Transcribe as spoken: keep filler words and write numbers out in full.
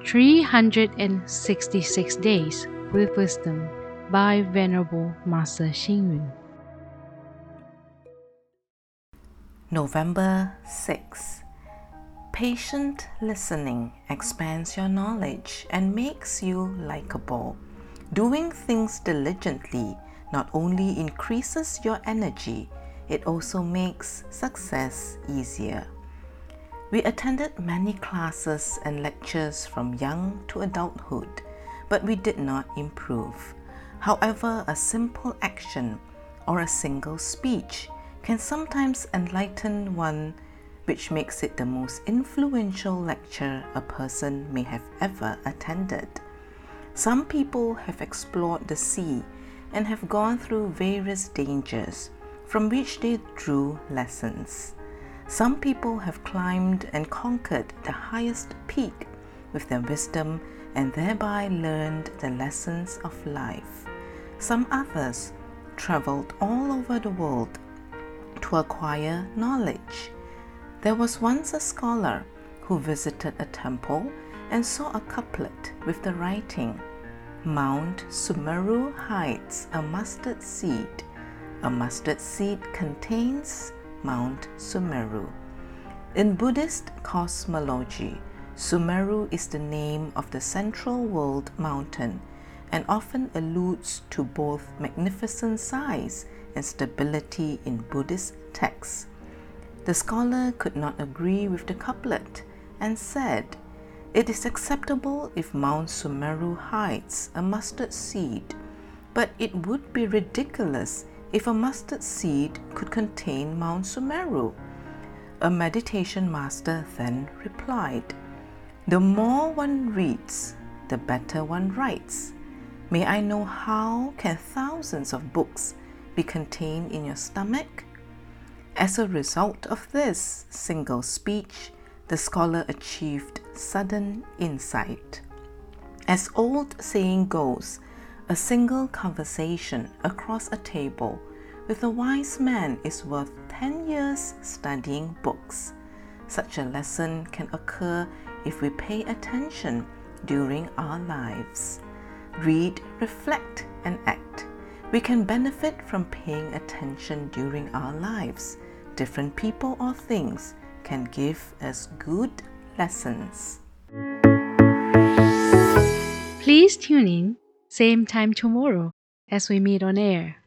three hundred sixty-six Days with Wisdom by Venerable Master Xing Yun. November sixth. Patient listening expands your knowledge and makes you likable. Doing things diligently not only increases your energy, it also makes success easier. We attended many classes and lectures from young to adulthood, but we did not improve. However, a simple action or a single speech can sometimes enlighten one, which makes it the most influential lecture a person may have ever attended. Some people have explored the sea and have gone through various dangers from which they drew lessons. Some people have climbed and conquered the highest peak with their wisdom and thereby learned the lessons of life. Some others traveled all over the world to acquire knowledge. There was once a scholar who visited a temple and saw a couplet with the writing, "Mount Sumeru hides a mustard seed. A mustard seed contains Mount Sumeru." In Buddhist cosmology, Sumeru is the name of the central world mountain and often alludes to both magnificent size and stability in Buddhist texts. The scholar could not agree with the couplet and said, "It is acceptable if Mount Sumeru hides a mustard seed, but it would be ridiculous if a mustard seed could contain Mount Sumeru." A meditation master then replied, "The more one reads, the better one writes. May I know how can thousands of books be contained in your stomach?" As a result of this single speech, the scholar achieved sudden insight. As old saying goes, a single conversation across a table with a wise man is worth ten years studying books. Such a lesson can occur if we pay attention during our lives. Read, reflect, and act. We can benefit from paying attention during our lives. Different people or things can give us good lessons. Please tune in, same time tomorrow as we meet on air.